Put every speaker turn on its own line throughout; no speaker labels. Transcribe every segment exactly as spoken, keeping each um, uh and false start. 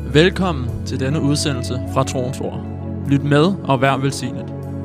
Velkommen til denne udsendelse fra Troens Ord. Lyt med og vær velsignet.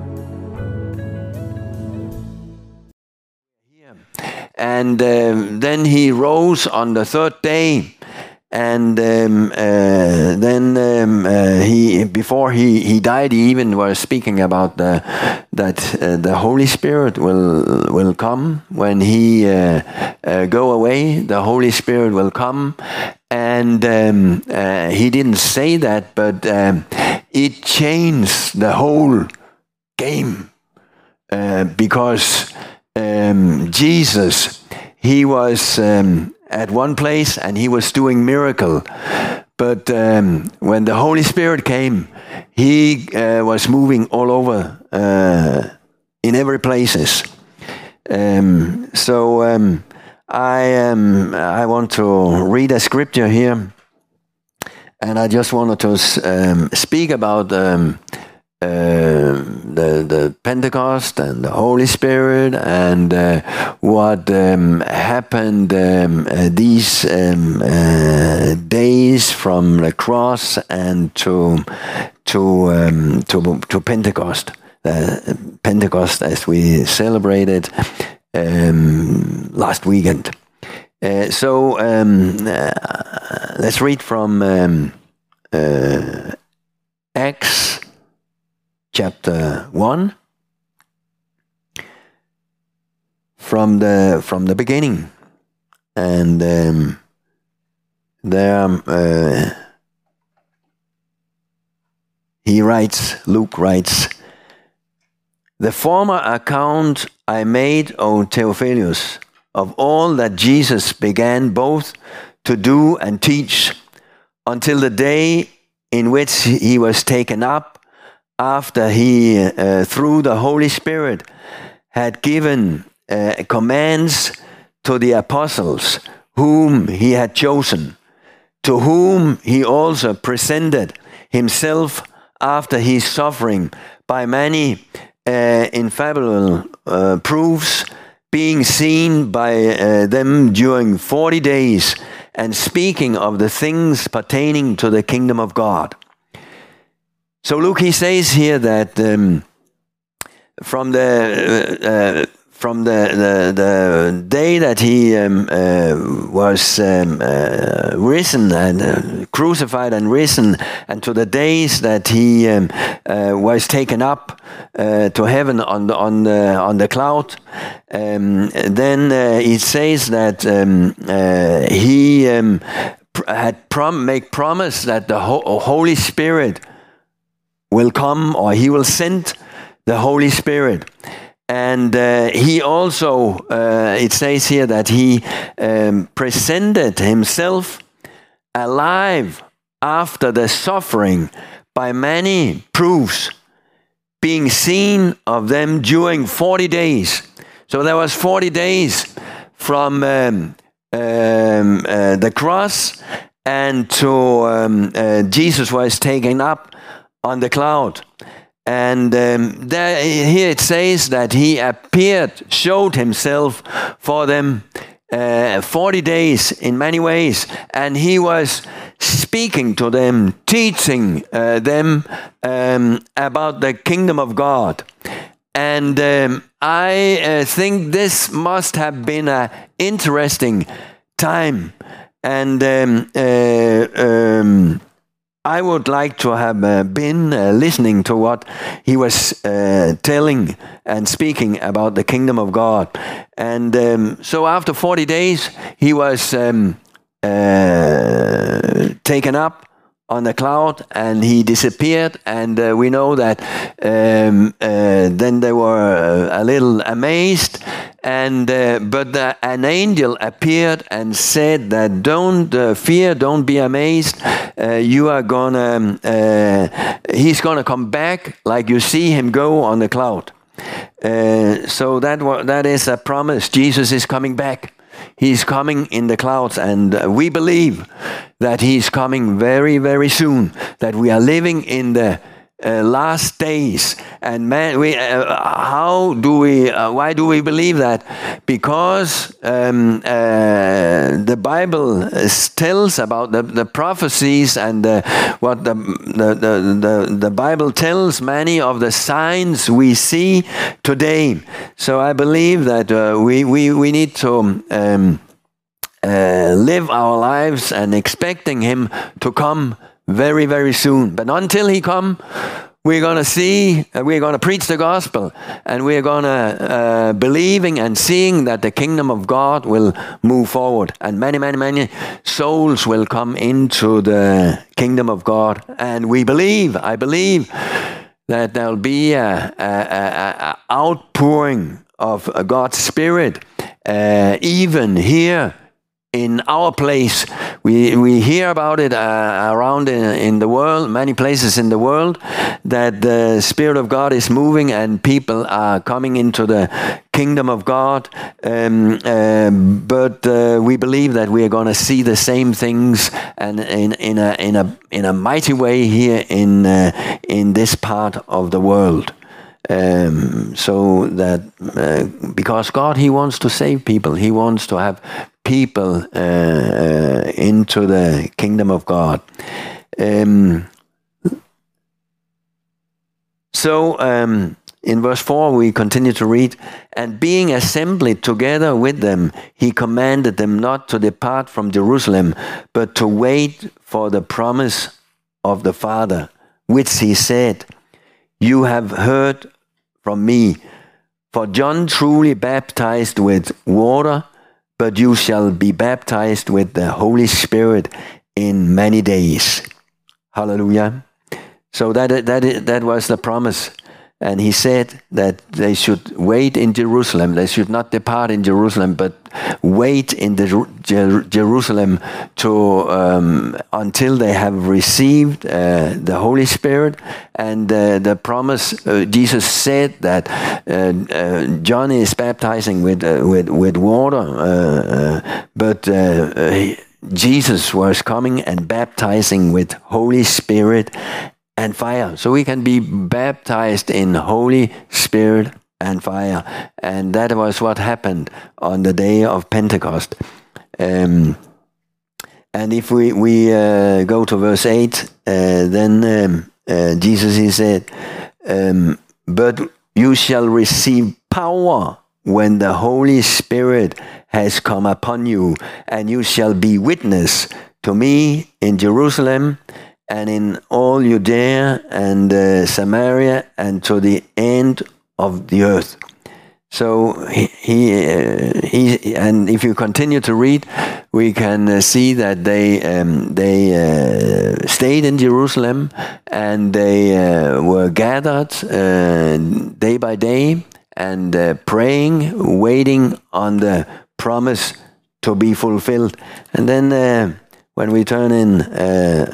And uh, then he rose on the third day, and um, uh, then um, uh, he before he, he died, he even was speaking about the, that uh, the Holy Spirit will will come when he uh, uh, go away. The Holy Spirit will come, and um, uh, he didn't say that, but um, it changed the whole game uh, because. Um, Jesus, he was um, at one place and he was doing miracle, but um, when the Holy Spirit came, he uh, was moving all over uh, in every places. Um, so um, I um, I want to read a scripture here, and I just wanted to um, speak about. Um, Uh, the the Pentecost and the Holy Spirit and uh, what um, happened um, uh, these um, uh, days from the cross and to to um, to to Pentecost, uh, Pentecost as we celebrated um, last weekend. Uh, so um, uh, let's read from um, uh, Acts. Chapter one, from the from the beginning, and um, there uh, he writes. Luke writes, "The former account I made, O Theophilus, of all that Jesus began both to do and teach, until the day in which he was taken up, after he, uh, through the Holy Spirit, had given uh, commands to the apostles whom he had chosen, to whom he also presented himself after his suffering by many uh, infallible uh, proofs, being seen by uh, them during forty days, and speaking of the things pertaining to the kingdom of God." So Luke, he says here that um, from the uh, uh, from the, the the day that he um, uh, was um, uh, risen and uh, crucified and risen, and to the days that he um, uh, was taken up uh, to heaven on the on the on the cloud, um, then uh, it says that um, uh, he um, pr- had prom- make promise that the Ho- Holy Spirit will come, or he will send the Holy Spirit. And uh, he also, uh, it says here that he um, presented himself alive after the suffering by many proofs, being seen of them during forty days. So there was forty days from um, um, uh, the cross and to um, uh, Jesus was taken up on the cloud. And um, there, here it says that he appeared, showed himself for them uh, forty days in many ways, and he was speaking to them, teaching uh, them um, about the kingdom of God. And um, I uh, think this must have been an interesting time. And um, uh, um, I would like to have uh, been uh, listening to what he was uh, telling and speaking about the kingdom of God. And um, so after forty days, he was um, uh, taken up on the cloud and he disappeared. And uh, we know that um, uh, then they were uh, a little amazed. And uh, but the, an angel appeared and said that don't uh, fear, don't be amazed. Uh, you are gonna, um, uh, he's gonna come back like you see him go on the cloud. Uh, so that wa- that is a promise. Jesus is coming back. He's coming in the clouds, and uh, we believe that he's coming very, very soon. That we are living in the uh, last days. And man, we uh, how do we? Uh, why do we believe that? Because um, uh, the Bible tells about the, the prophecies and uh, what the the, the the the Bible tells many of the signs we see today. So I believe that uh, we we we need to. Um, Uh, live our lives and expecting him to come very, very soon. But until he come, we're going to see, uh, we're going to preach the gospel, and we're going to uh, believing and seeing that the kingdom of God will move forward, and many, many, many souls will come into the kingdom of God. And we believe, I believe, that there'll be a, a, a, a outpouring of God's Spirit, uh, even here in our place. We we hear about it uh, around in, in the world, many places in the world, that the Spirit of God is moving and people are coming into the kingdom of God. Um, uh, but uh, we believe that we are going to see the same things, and in in a in a in a mighty way here in uh, in this part of the world. Um, so that uh, because God, He wants to save people, He wants to have people uh, uh, into the kingdom of God. Um, so um, in verse four we continue to read, and being assembled together with them, He commanded them not to depart from Jerusalem, but to wait for the promise of the Father, which He said, "You have heard from me. For John truly baptized with water, but you shall be baptized with the Holy Spirit in many days." Hallelujah. So that that that was the promise. And He said that they should wait in Jerusalem. They should not depart in Jerusalem, but wait in the Jer- Jerusalem to um, until they have received uh, the Holy Spirit. And uh, the promise, uh, Jesus said that uh, uh, John is baptizing with uh, with with water, uh, uh, but uh, uh, Jesus was coming and baptizing with Holy Spirit and fire. So we can be baptized in Holy Spirit and fire. And that was what happened on the day of Pentecost. Um, and if we, we uh, go to verse eight, uh, then um, uh, Jesus, He said, um, "But you shall receive power when the Holy Spirit has come upon you, and you shall be witness to me in Jerusalem, and in all Judea and uh, Samaria, and to the end of the earth." So he, he, uh, he, and if you continue to read, we can uh, see that they um, they uh, stayed in Jerusalem, and they uh, were gathered uh, day by day and uh, praying, waiting on the promise to be fulfilled. And then uh, when we turn in Uh,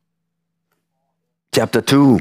chapter two,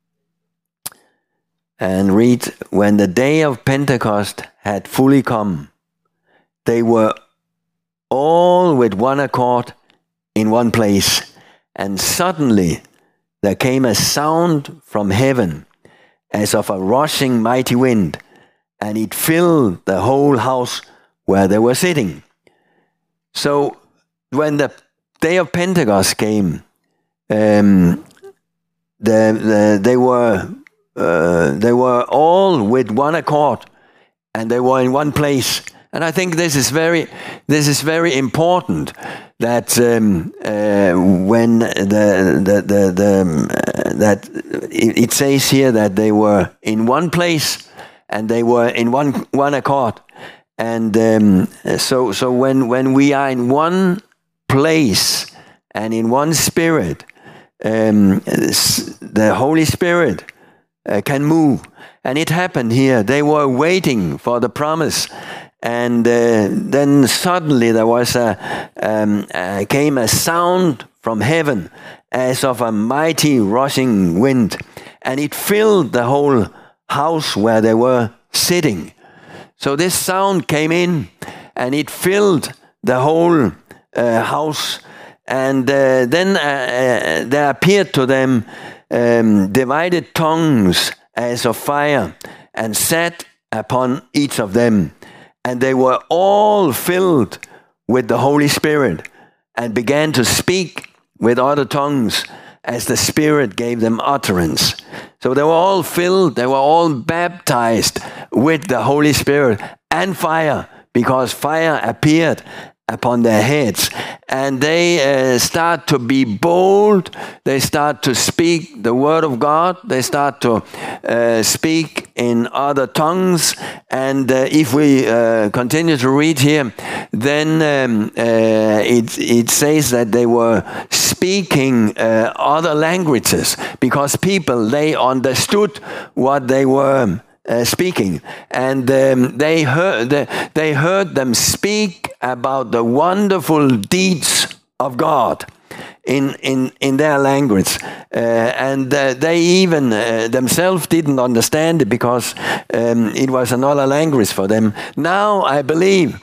and read, "When the day of Pentecost had fully come, they were all with one accord in one place. And suddenly there came a sound from heaven as of a rushing mighty wind, and it filled the whole house where they were sitting." So when the day of Pentecost came, um, The, the, they were uh, they were all with one accord, and they were in one place. And I think this is very this is very important, that um, uh, when the the the, the uh, that it, it says here that they were in one place and they were in one one accord. And um, so so when when we are in one place and in one spirit, Um, the Holy Spirit uh, can move. And it happened here. They were waiting for the promise, and uh, then suddenly there was a um, uh, came a sound from heaven as of a mighty rushing wind, and it filled the whole house where they were sitting. So this sound came in, and it filled the whole uh, house. And uh, then uh, uh, there appeared to them um, divided tongues as of fire and sat upon each of them. And they were all filled with the Holy Spirit and began to speak with other tongues as the Spirit gave them utterance. So they were all filled, they were all baptized with the Holy Spirit and fire, because fire appeared upon their heads. And they uh, start to be bold, they start to speak the word of God, they start to uh, speak in other tongues. And uh, if we uh, continue to read here, then um, uh, it, it says that they were speaking uh, other languages, because people, they understood what they were Uh, speaking, and um, they heard they heard them speak about the wonderful deeds of God in in in their language, uh, and uh, they even uh, themselves didn't understand it, because um, it was another language for them. Now I believe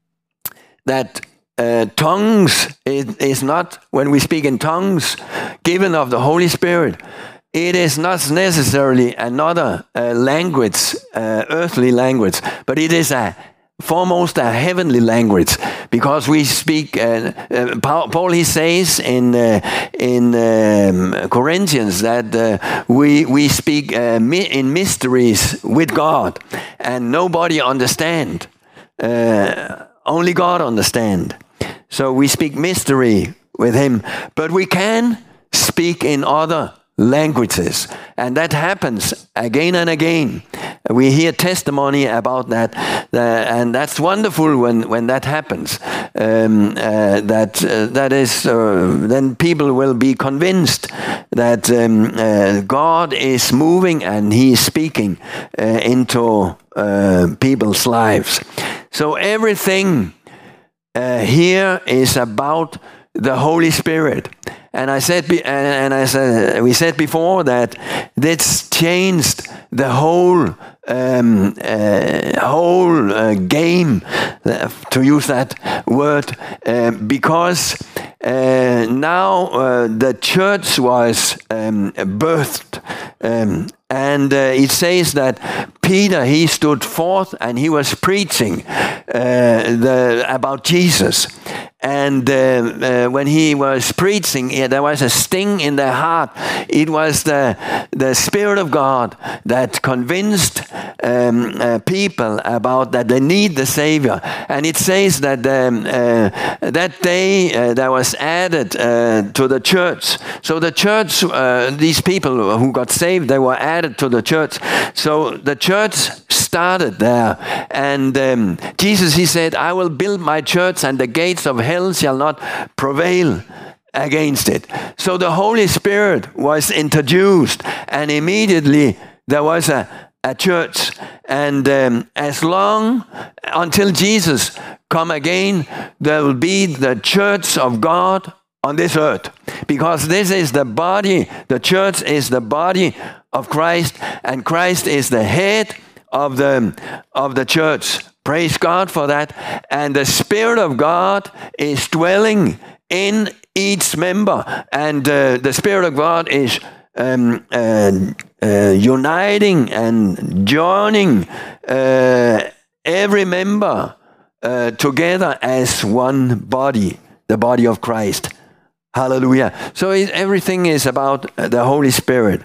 that uh, tongues is, is not, when we speak in tongues given of the Holy Spirit, it is not necessarily another uh, language, uh, earthly language, but it is a foremost a heavenly language, because we speak. Uh, uh, Paul, Paul he says in uh, in um, Corinthians that uh, we we speak uh, mi- in mysteries with God, and nobody understand. Uh, only God understand. So we speak mystery with Him, but we can speak in other languages, and that happens again and again. We hear testimony about that, uh, and that's wonderful when, when that happens. Um, uh, that uh, that is, uh, then people will be convinced that um, uh, God is moving and He is speaking uh, into uh, people's lives. So everything uh, here is about the Holy Spirit. And I said, and I said, we said before that this changed the whole um, uh, whole uh, game, uh, to use that word, uh, because uh, now uh, the church was um, birthed, um, and uh, it says that Peter, he stood forth and he was preaching uh, the, about Jesus. And uh, uh, when he was preaching, yeah, there was a sting in their heart. It was the the Spirit of God that convinced um, uh, people about that they need the Savior. And it says that um, uh, that day uh, there was added uh, to the church. So the church, uh, these people who got saved, they were added to the church. So the church started there. And um, Jesus, he said, I will build my church, and the gates of hell shall not prevail against it. So the Holy Spirit was introduced, and immediately there was a, a church. And um, as long until Jesus come again, there will be the church of God on this earth, because this is the body. The church is the body of Christ, and Christ is the head of the of the church. Praise God for that. And the Spirit of God is dwelling in each member, and uh, the Spirit of God is um, uh, uh, uniting and joining uh, every member uh, together as one body, the body of Christ. Hallelujah. So it, everything is about the Holy Spirit.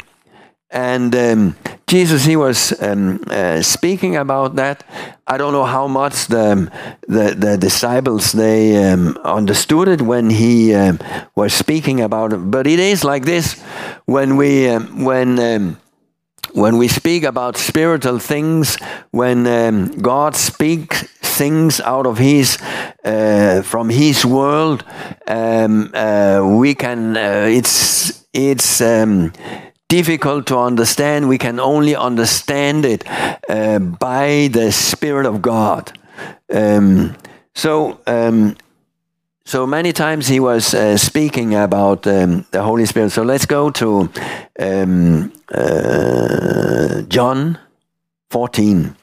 And um, Jesus, he was um, uh, speaking about that. I don't know how much the the, the disciples, they um, understood it when he um, was speaking about it. But it is like this: when we um, when um, when we speak about spiritual things, when um, God speaks things out of His uh, from His world, um, uh, we can. Uh, it's it's. Um, difficult to understand. We can only understand it uh, by the Spirit of God. Um, so, um, so many times he was uh, speaking about um, the Holy Spirit. So let's go to um, uh, John fourteen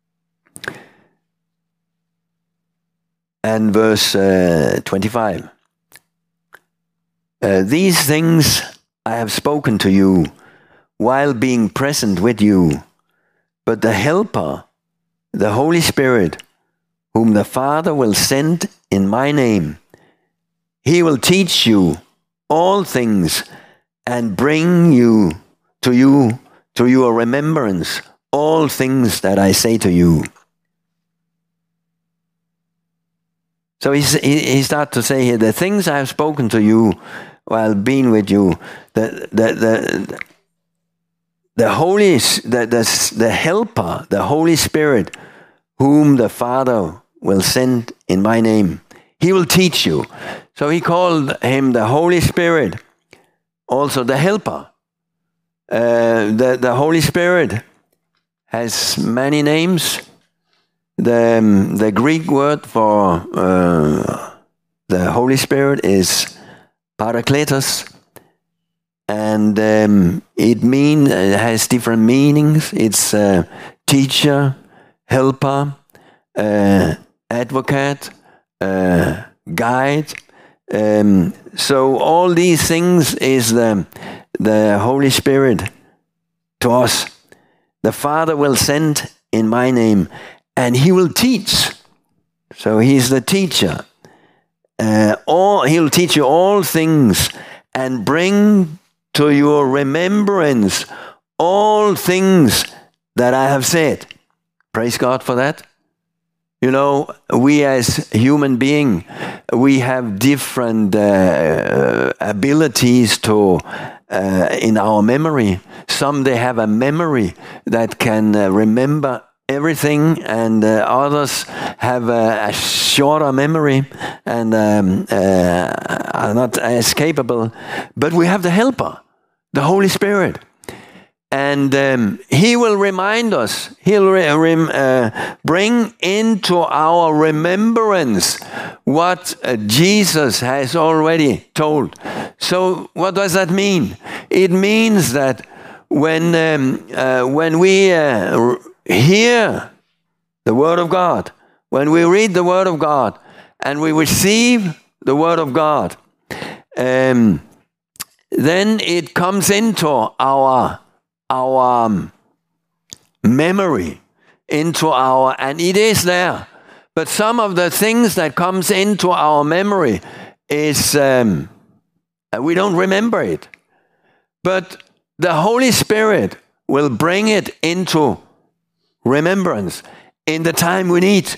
and verse uh, twenty-five. Uh, these things I have spoken to you while being present with you. But the Helper, the Holy Spirit, whom the Father will send in my name, he will teach you all things and bring you to you to your remembrance all things that I say to you. So he, he starts to say here, the things I have spoken to you while being with you, the the the the Holy the, the the Helper, the Holy Spirit, whom the Father will send in my name, he will teach you. So he called him the Holy Spirit, also the Helper. Uh, the the Holy Spirit has many names. The um, the Greek word for uh, the Holy Spirit is Parakletos, and um, it mean it has different meanings. It's uh, teacher, helper, uh, advocate, uh, guide. Um, so all these things is the the Holy Spirit to us. The Father will send in my name, and he will teach. So he's the teacher. Uh, all, he'll teach you all things and bring to your remembrance all things that I have said. Praise God for that. You know, we as human beings, we have different uh, abilities to uh, in our memory. Some, they have a memory that can uh, remember everything, and uh, others have a, a shorter memory and um, uh, are not as capable. But we have the Helper, the Holy Spirit. And um, he will remind us, he'll re- rem- uh, bring into our remembrance what uh, Jesus has already told. So what does that mean? It means that when, um, uh, when we uh, hear the Word of God, when we read the Word of God, and we receive the Word of God, um, then it comes into our our um, memory, into our, and it is there. But some of the things that comes into our memory is, um, we don't remember it. But the Holy Spirit will bring it into remembrance in the time we need.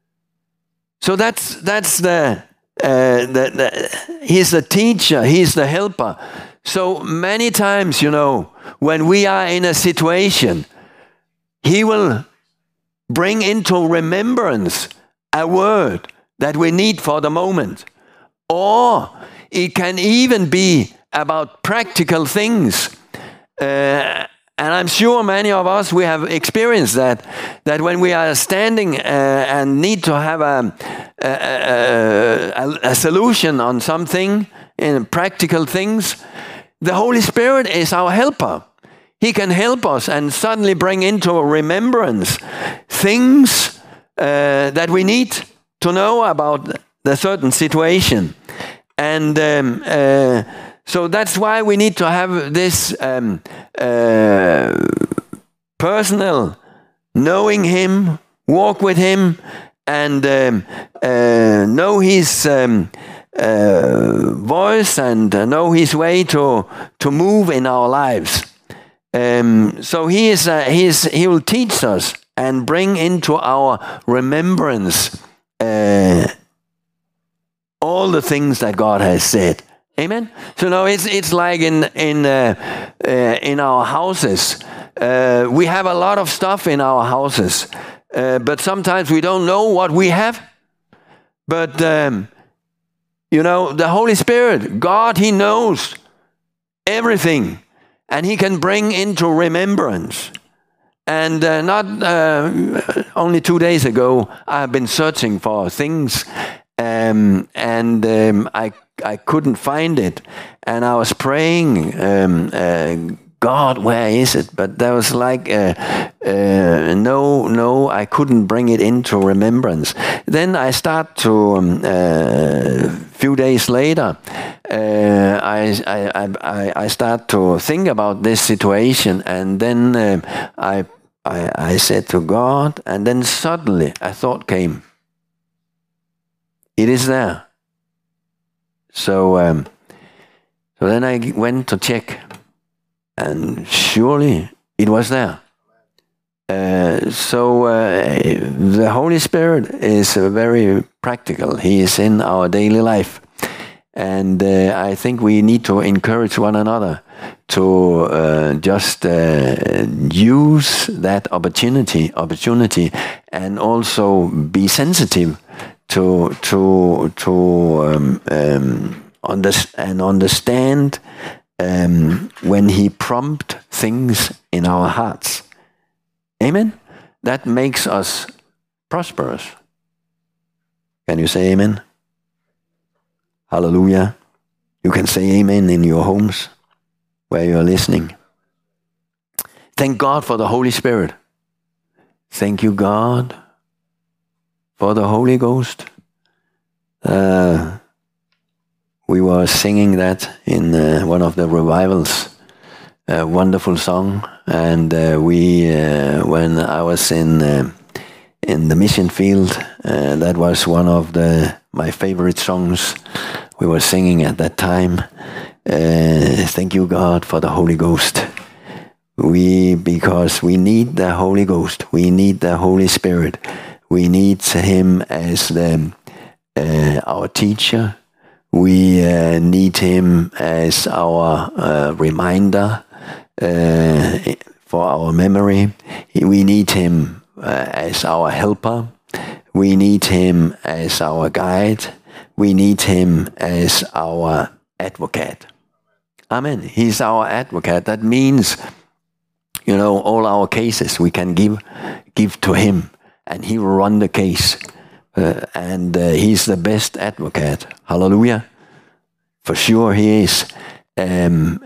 So that's that's the, uh, the, the he's the teacher, he's the helper. So many times, you know, when we are in a situation, he will bring into remembrance a word that we need for the moment. Or it can even be about practical things. Uh, and I'm sure many of us, we have experienced that, that when we are standing uh, and need to have a, a, a, a solution on something, in practical things, the Holy Spirit is our helper. He can help us and suddenly bring into remembrance things uh, that we need to know about the certain situation. And um, uh, so that's why we need to have this um, uh, personal knowing him, walk with him, and um, uh, know his um, uh, voice and uh, know his way to to move in our lives. Um, so he is uh, he is he will teach us and bring into our remembrance uh, all the things that God has said. Amen. So now it's it's like in in uh, uh, in our houses. Uh, we have a lot of stuff in our houses, uh, but sometimes we don't know what we have. But um, you know, the Holy Spirit, God, he knows everything, and he can bring into remembrance. And uh, not uh, only two days ago, I have been searching for things, um, and um, I I couldn't find it, and I was praying, um, uh, God, where is it? But there was like uh, uh, no, no, I couldn't bring it into remembrance. Then I start to um, uh, few days later, uh, I, I, I, I start to think about this situation, and then uh, I, I, I said to God, and then suddenly a thought came. It is there. So, um, so then I went to check, and surely it was there. Uh, so uh, the Holy Spirit is uh, very practical. He is in our daily life. And uh, I think we need to encourage one another to uh, just uh, use that opportunity, opportunity, and also be sensitive to to to um, um, under, and understand um, when He prompts things in our hearts. Amen. That makes us prosperous. Can you say amen? Hallelujah. You can say amen in your homes where you are listening. Thank God for the Holy Spirit. Thank you, God, for the Holy Ghost. Uh, we were singing that in uh, one of the revivals. A wonderful song. And uh, we, uh, when I was in uh, in the mission field, uh, that was one of the my favorite songs we were singing at that time. Uh, thank you, God, for the Holy Ghost. We, because we need the Holy Ghost. We need the Holy Spirit. We need Him as the, uh, our teacher. We uh, need Him as our uh, reminder, uh, for our memory. We need Him uh, as our helper. We need Him as our guide. We need Him as our advocate. Amen. He's our advocate. That means, you know, all our cases we can give give to Him, and He will run the case. Uh, and uh, He's the best advocate. Hallelujah. For sure He is. Um,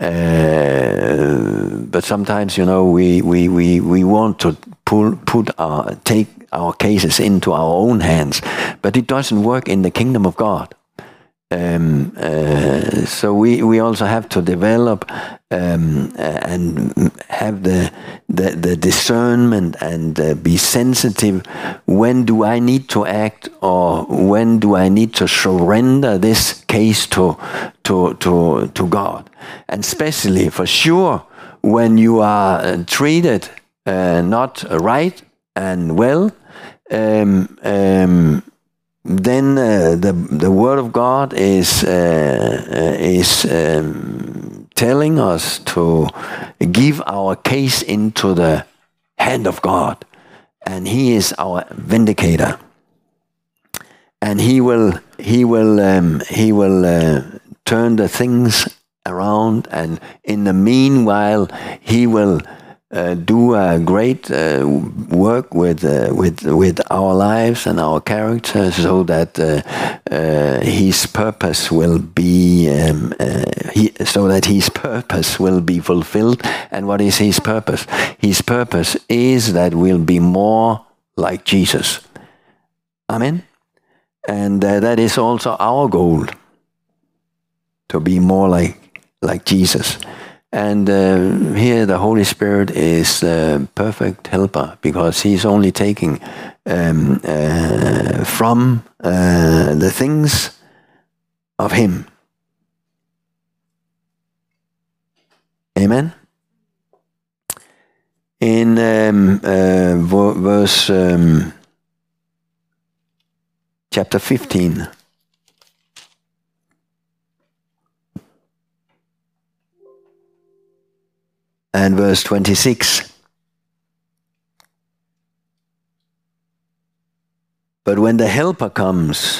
uh, but sometimes, you know, we, we, we, we want to pull, put our, take our cases into our own hands, but it doesn't work in the kingdom of God. Um, uh, so we, we also have to develop um, uh, and have the, the, the discernment and uh, be sensitive. When do I need to act, or when do I need to surrender this case to, to, to, to God? And especially, for sure, when you are uh, treated uh, not right and well, um, um, then uh, the the Word of God is uh, uh, is um, telling us to give our case into the hand of God, and He is our vindicator, and He will He will um, He will uh, turn the things around, and in the meanwhile He will Uh, do a great uh, work with uh, with with our lives and our character, so that uh, uh, His purpose will be um, uh, he, so that His purpose will be fulfilled. And what is His purpose? His purpose is that we'll be more like Jesus. Amen. And uh, that is also our goal, to be more like like Jesus. And uh, here the Holy Spirit is the perfect helper, because He's only taking um, uh, from uh, the things of Him. Amen. In um, uh, verse um, chapter fifteen. And verse twenty-six. But when the Helper comes,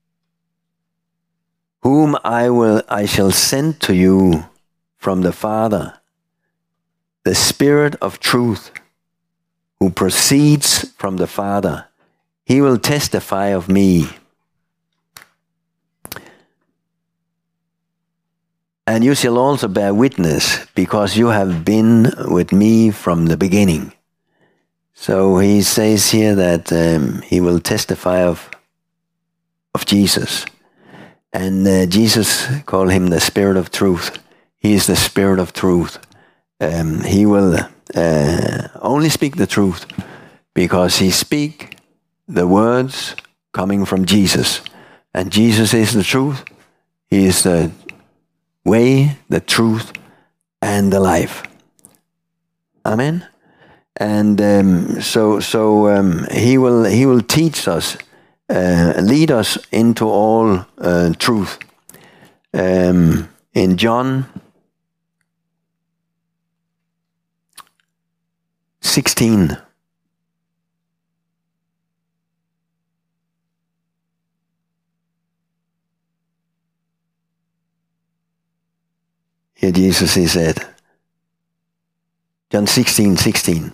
whom I will, I shall send to you from the Father, the Spirit of truth, who proceeds from the Father, He will testify of me. And you shall also bear witness, because you have been with me from the beginning. So he says here that um, he will testify of, of Jesus. And uh, Jesus called him the Spirit of Truth. He is the Spirit of Truth. Um, he will uh, only speak the truth because he speak the words coming from Jesus. And Jesus is the truth. He is the way, the truth, and the life. Amen. And um, so, so um, he will he will teach us, uh, lead us into all uh, truth. Um, in John sixteen. Here Jesus he said, John sixteen, sixteen.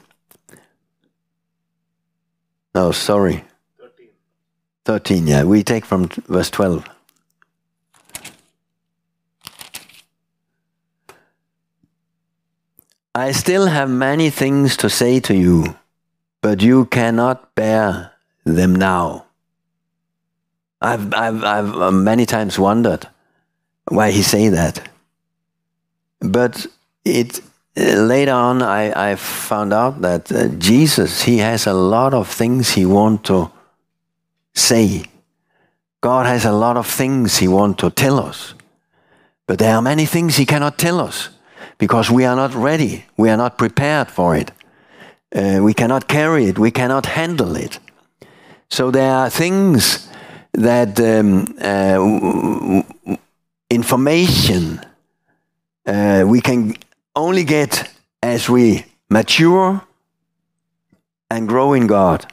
No, sorry. thirteen. thirteen, yeah. We take from verse twelve. I still have many things to say to you, but you cannot bear them now. I've, I've, I've many times wondered why he say that. But it uh, later on I, I found out that uh, Jesus, he has a lot of things he wants to say. God has a lot of things he wants to tell us. But there are many things he cannot tell us because we are not ready. We are not prepared for it. Uh, we cannot carry it. We cannot handle it. So there are things that um, uh, information Uh, we can only get as we mature and grow in God.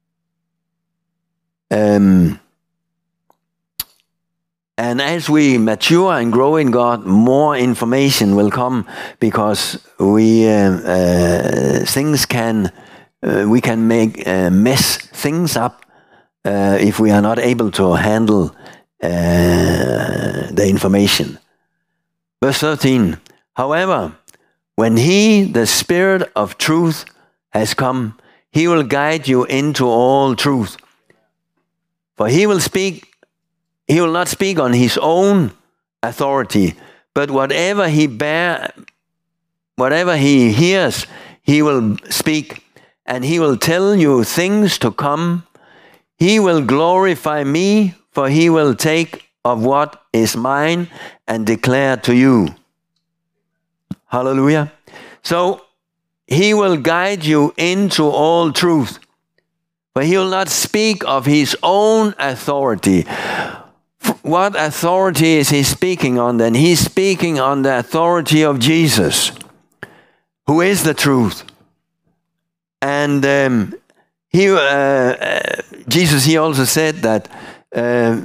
Um, and as we mature and grow in God, more information will come because we uh, uh, things can uh, we can make uh, mess things up uh, if we are not able to handle uh, the information. Verse thirteen, however, when he, the Spirit of truth, has come, he will guide you into all truth. For he will speak, he will not speak on his own authority, but whatever he bear, whatever he hears, he will speak, and he will tell you things to come. He will glorify me, for he will take of what is mine and declare to you. Hallelujah. So he will guide you into all truth. But he will not speak of his own authority. What authority is he speaking on then? He's speaking on the authority of Jesus, who is the truth. And um, he, uh, uh, Jesus, he also said that uh,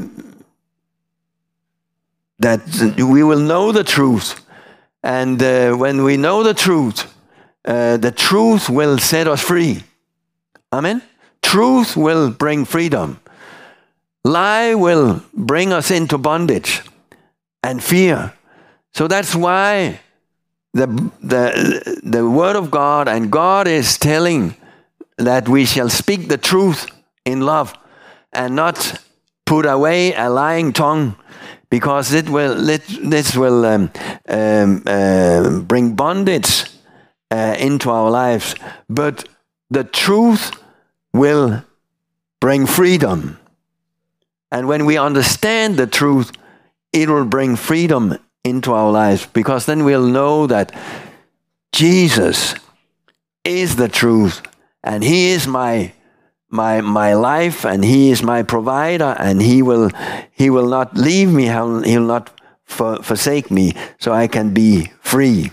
that we will know the truth. And uh, when we know the truth, uh, the truth will set us free. Amen? Truth will bring freedom. Lie will bring us into bondage and fear. So that's why the, the, the Word of God and God is telling that we shall speak the truth in love and not put away a lying tongue, because it will, it, this will um, um, uh, bring bondage uh, into our lives. But the truth will bring freedom. And when we understand the truth, it will bring freedom into our lives, because then we'll know that Jesus is the truth, and he is my my my life, and he is my provider, and he will he will not leave me, he will not for, forsake me, so I can be free.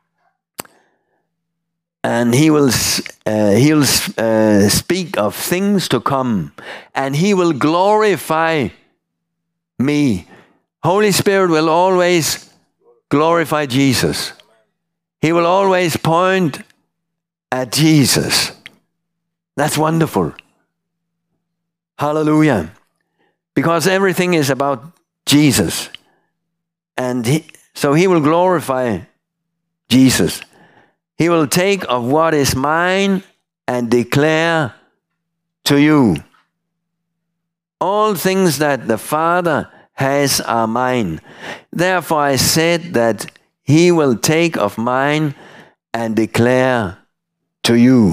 And he will uh, he will uh, speak of things to come, and he will glorify me. Holy Spirit will always glorify Jesus. He will always point at Jesus. That's wonderful. Hallelujah. Because everything is about Jesus. And he, so he will glorify Jesus. He will take of what is mine and declare to you. All things that the Father has are mine. Therefore I said that he will take of mine and declare to you.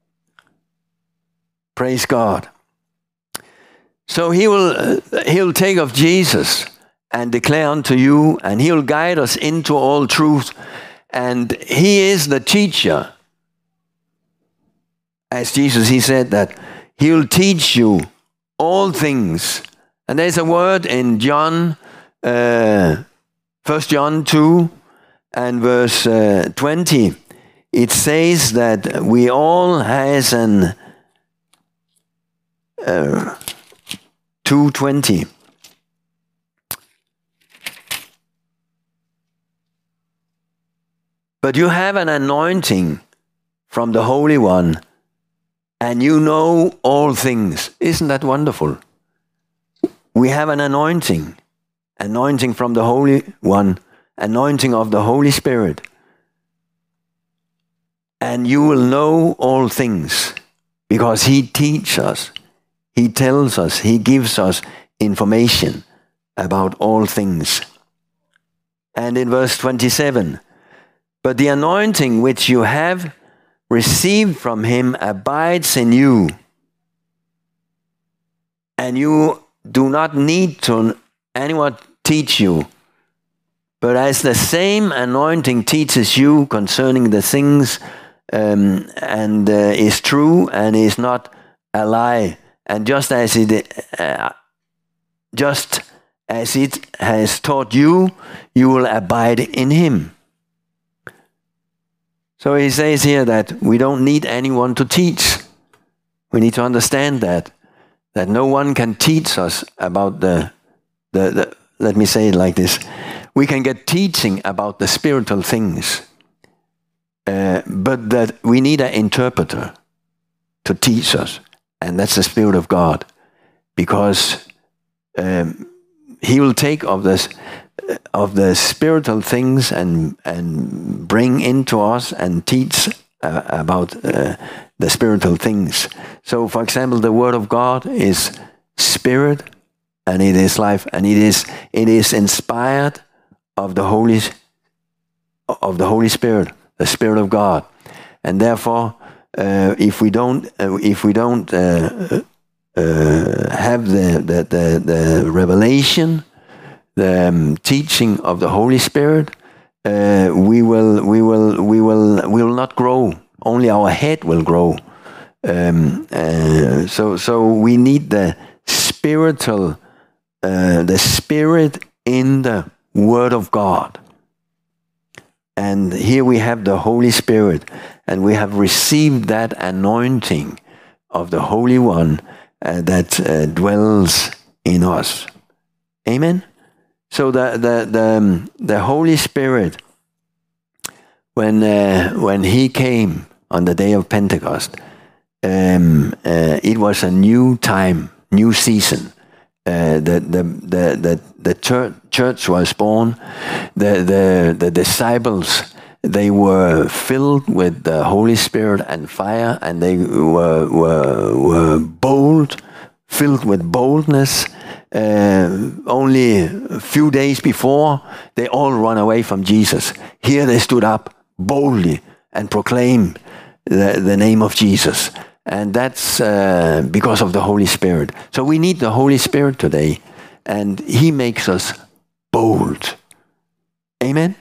Praise God. So he will uh, he'll take of Jesus and declare unto you, and he'll guide us into all truth. And he is the teacher. As Jesus, he said that he'll teach you all things. And there's a word in John, uh, First John two and verse uh, twenty. It says that we all has an uh, two twenty. But you have an anointing from the Holy One, and you know all things. Isn't that wonderful? We have an anointing, anointing from the Holy One, anointing of the Holy Spirit. And you will know all things, because he teaches us, he tells us, he gives us information about all things. And in verse twenty-seven, but the anointing which you have received from him abides in you, and you do not need to anyone teach you, but as the same anointing teaches you concerning the things um, and uh, is true and is not a lie, and just as it uh, just as it has taught you, you will abide in him. So he says here that we don't need anyone to teach. We need to understand that, that no one can teach us about the, the, the, let me say it like this. We can get teaching about the spiritual things, uh, but that we need an interpreter to teach us, and that's the Spirit of God, because um, he will take of this, of the spiritual things and and bring into us and teach uh, about uh, the spiritual things. So, for example, the Word of God is spirit, and it is life, and it is it is inspired of the Holy of the Holy Spirit, the Spirit of God, and therefore, uh, if we don't uh, if we don't uh, uh, have the the the, the revelation, the um, teaching of the Holy Spirit, uh, we will, we will, we will, we will not grow. Only our head will grow. Um, uh, so, so we need the spiritual, uh, the Spirit in the Word of God. And here we have the Holy Spirit, and we have received that anointing of the Holy One uh, that uh, dwells in us. Amen. So the the the, um, the Holy Spirit, when uh, when he came on the day of Pentecost, um, uh, it was a new time, new season. Uh, the the the the the church, church was born. The the the disciples, they were filled with the Holy Spirit and fire, and they were were were bold, filled with boldness. Uh, only a few days before, they all run away from Jesus. Here they stood up boldly and proclaimed the, the name of Jesus. And that's uh, because of the Holy Spirit. So we need the Holy Spirit today, and he makes us bold. Amen?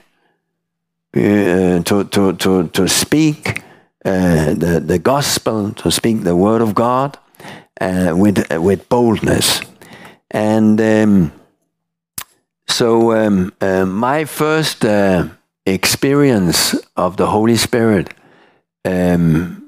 Uh, to, to, to, to speak uh, the, the gospel, to speak the word of God uh, with, uh, with boldness. And um, so um, uh, my first uh, experience of the Holy Spirit, um,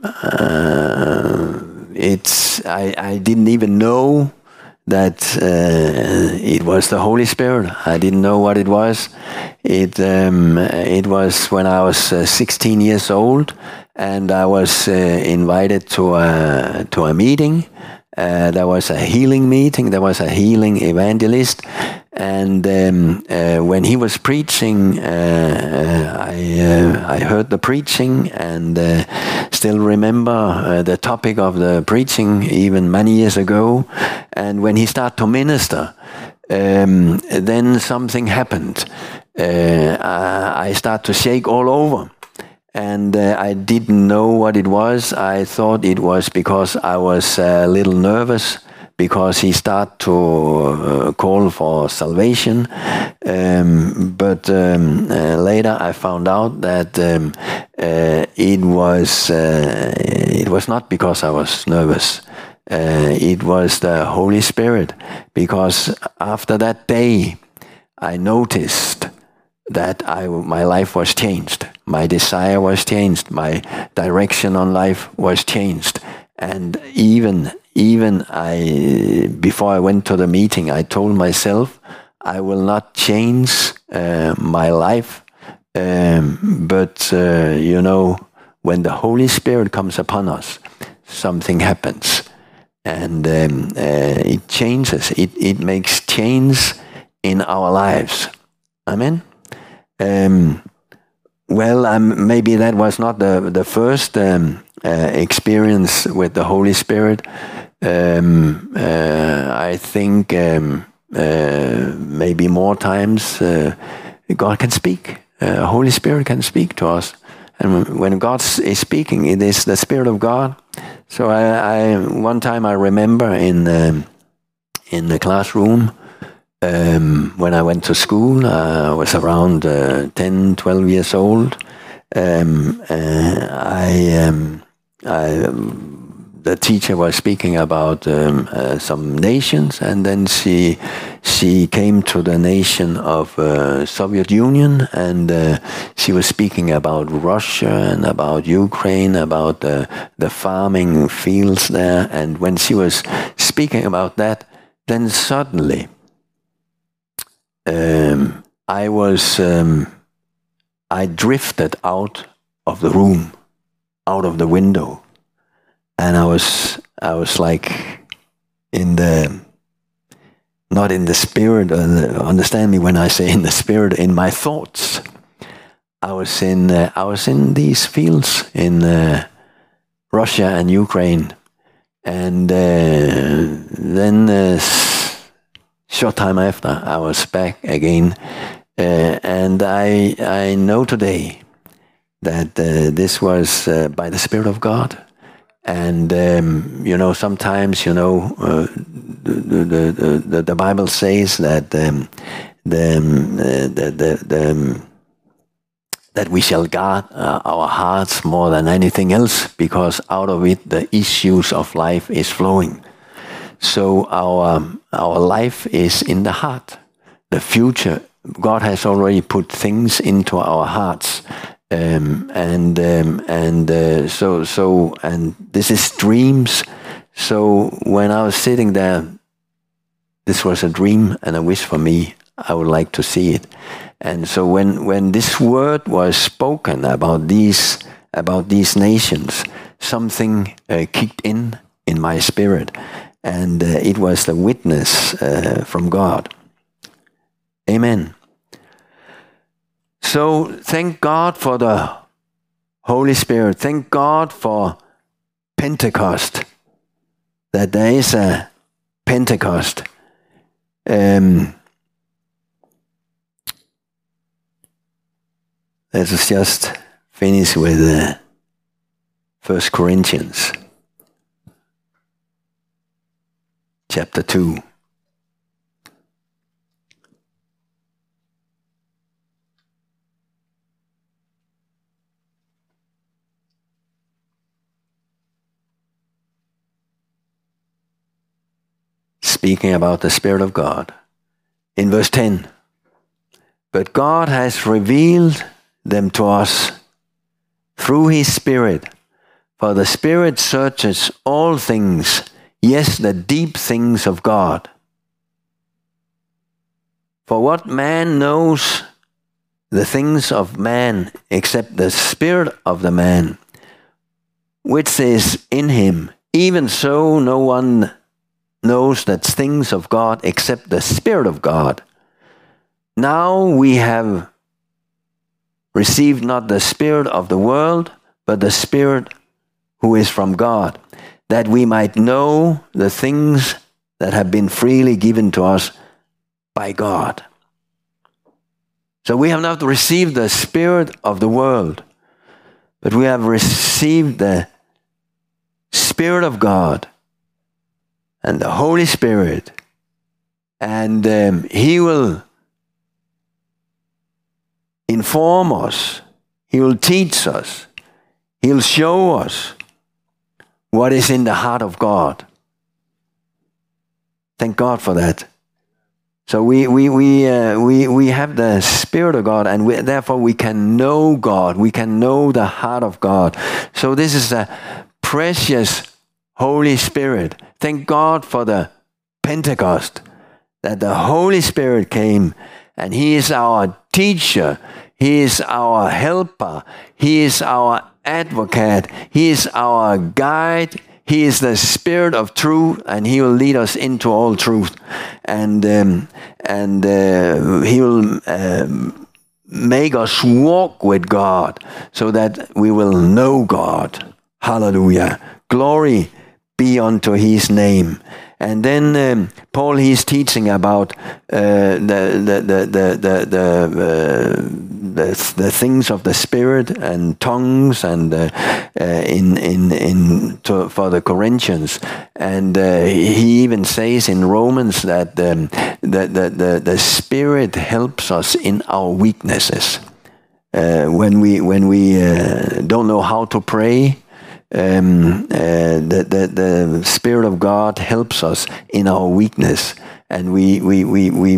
uh, it's I, I didn't even know that uh, it was the Holy Spirit. I didn't know what it was. It um, it was when I was uh, sixteen years old, and I was uh, invited to a to a meeting. Uh, there was a healing meeting, there was a healing evangelist, and um, uh, when he was preaching, uh, I, uh, I heard the preaching, and uh, still remember uh, the topic of the preaching even many years ago. And when he started to minister, um, then something happened. Uh, I, I start to shake all over. And uh, I didn't know what it was. I thought it was because I was a little nervous, because he started to uh, call for salvation. Um, but um, uh, later I found out that um, uh, it was uh, it was not because I was nervous. Uh, it was the Holy Spirit, because after that day I noticed that I, my life was changed. My desire was changed. My direction on life was changed. And even even I, before I went to the meeting, I told myself, I will not change uh, my life. Um, but, uh, you know, when the Holy Spirit comes upon us, something happens. And um, uh, it changes. It, it makes change in our lives. Amen? Um, well, um, maybe that was not the the first um, uh, experience with the Holy Spirit. Um, uh, I think um, uh, maybe more times uh, God can speak. Uh, Holy Spirit can speak to us, and when God is speaking, it is the Spirit of God. So I, I one time I remember in um, in the classroom. Um, when I went to school, uh, I was around uh, ten, twelve years old. Um, uh, I, um, I, um, the teacher was speaking about um, uh, some nations, and then she she came to the nation of uh, Soviet Union, and uh, she was speaking about Russia and about Ukraine, about uh, the farming fields there. And when she was speaking about that, then suddenly. Um, I was, um, I drifted out of the room, out of the window, and I was, I was like in the, not in the spirit, uh, understand me when I say in the spirit, in my thoughts. I was in, uh, I was in these fields in uh, Russia and Ukraine, and uh, then uh, short time after, I was back again, uh, and I I know today that uh, this was uh, by the Spirit of God, and um, you know sometimes you know uh, the, the the the Bible says that um, the, um, uh, the the the um, that we shall guard uh, our hearts more than anything else, because out of it the issues of life is flowing. So our our life is in the heart. The future, God has already put things into our hearts, um, and um, and uh, so so and this is dreams. So when I was sitting there, this was a dream and a wish for me. I would like to see it. And so when when this word was spoken about these about these nations, something uh, kicked in in my spirit. And uh, it was the witness uh, from God. Amen. So thank God for the Holy Spirit. Thank God for Pentecost. That there is a Pentecost. Um, let us just finish with uh, First Corinthians. Chapter two. Speaking about the Spirit of God. In verse ten. But God has revealed them to us through His Spirit. For the Spirit searches all things, yes, the deep things of God. For what man knows the things of man except the spirit of the man, which is in him? Even so, no one knows the things of God except the Spirit of God. Now we have received not the spirit of the world, but the Spirit who is from God, that we might know the things that have been freely given to us by God. So we have not received the spirit of the world, but we have received the Spirit of God and the Holy Spirit. And um, He will inform us. He will teach us. He'll show us what is in the heart of God. Thank God for that. So we we we uh, we we have the Spirit of God, and we, therefore we can know God. We can know the heart of God. So this is a precious Holy Spirit. Thank God for the Pentecost, that the Holy Spirit came, and He is our teacher. He is our helper. He is our advocate. He is our guide. He is the Spirit of truth, and He will lead us into all truth. And um, and uh, He will um, make us walk with God so that we will know God. Hallelujah. Glory be unto His name. And then um, Paul, he's teaching about uh, the, the, the, the, the, the, uh, the, the things of the Spirit and tongues, and uh, uh, in in in to, for the Corinthians. And uh, he even says in Romans that um, the, the, the, the Spirit helps us in our weaknesses. Uh, when we, when we uh, don't know how to pray, Um, uh, the, the the Spirit of God helps us in our weakness, and we we we we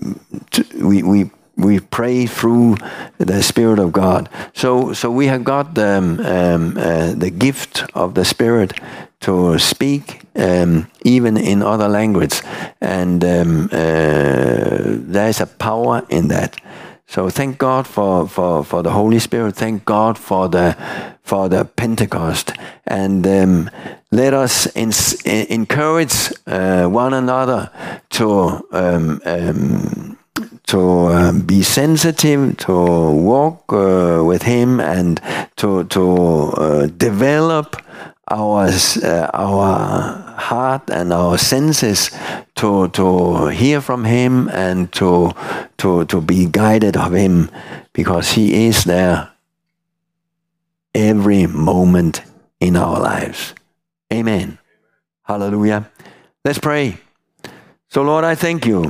we we, we pray through the Spirit of God. So so we have got um, um, uh, the gift of the Spirit to speak um, even in other language, and um, uh, there's a power in that. So thank God for, for, for the Holy Spirit. Thank God for the for the Pentecost, and um, let us ins- encourage uh, one another to um, um, to um, be sensitive, to walk uh, with Him, and to to uh, develop our uh, our heart and our senses to to hear from Him, and to to to be guided of Him, because He is there every moment in our lives. Amen. Hallelujah. Let's pray. So Lord, I thank You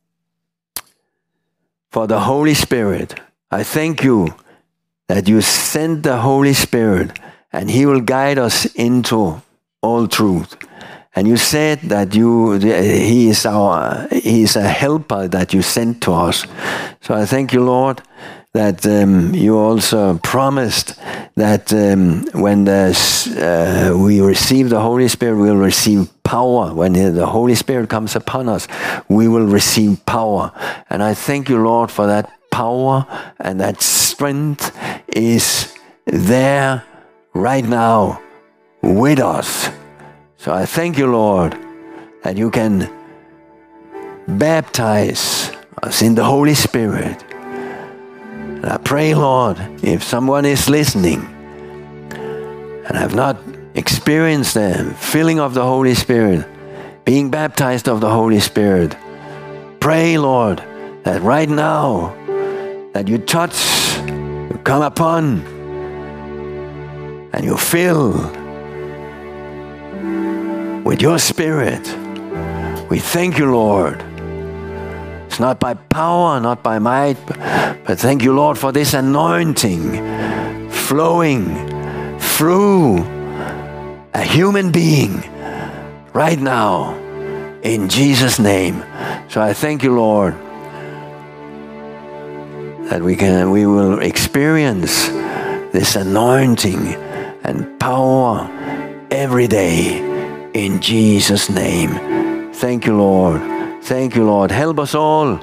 for the Holy Spirit. I thank You that You sent the Holy Spirit, and He will guide us into all truth. And You said that you, He is our, He is a helper that You sent to us. So I thank You, Lord, that um, You also promised that um, when the, uh, we receive the Holy Spirit, we will receive power. When the Holy Spirit comes upon us, we will receive power. And I thank You, Lord, for that power, and that strength is there right now with us. So I thank You, Lord, that You can baptize us in the Holy Spirit. And I pray, Lord, if someone is listening and have not experienced the filling of the Holy Spirit, being baptized of the Holy Spirit, pray, Lord, that right now that You touch, You come upon, and You fill with Your Spirit. We thank You, Lord. It's not by power, not by might, but thank You, Lord, for this anointing flowing through a human being right now, in Jesus' name. So I thank You, Lord, that we can, we will experience this anointing and power every day, in Jesus' name. Thank You, Lord. Thank You, Lord. Help us all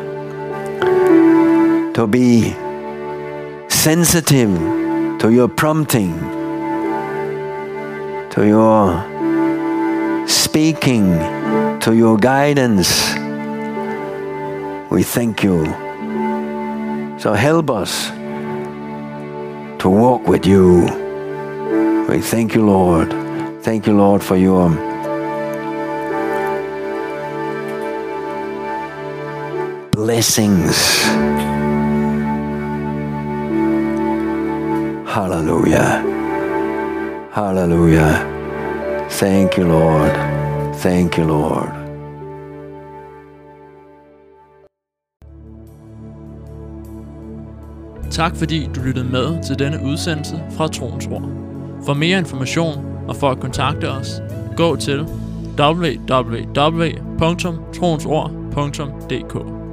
to be sensitive to Your prompting, to Your speaking, to Your guidance. We thank You. So help us to walk with You. We thank You, Lord. Thank You, Lord, for Your blessings. Hallelujah. Hallelujah. Thank you, Lord. Thank you, Lord.
Tak fordi du lyttede med til denne udsendelse fra Troens Ord. For mere information og for at kontakte os, gå til w w w punktum troensord punktum d k.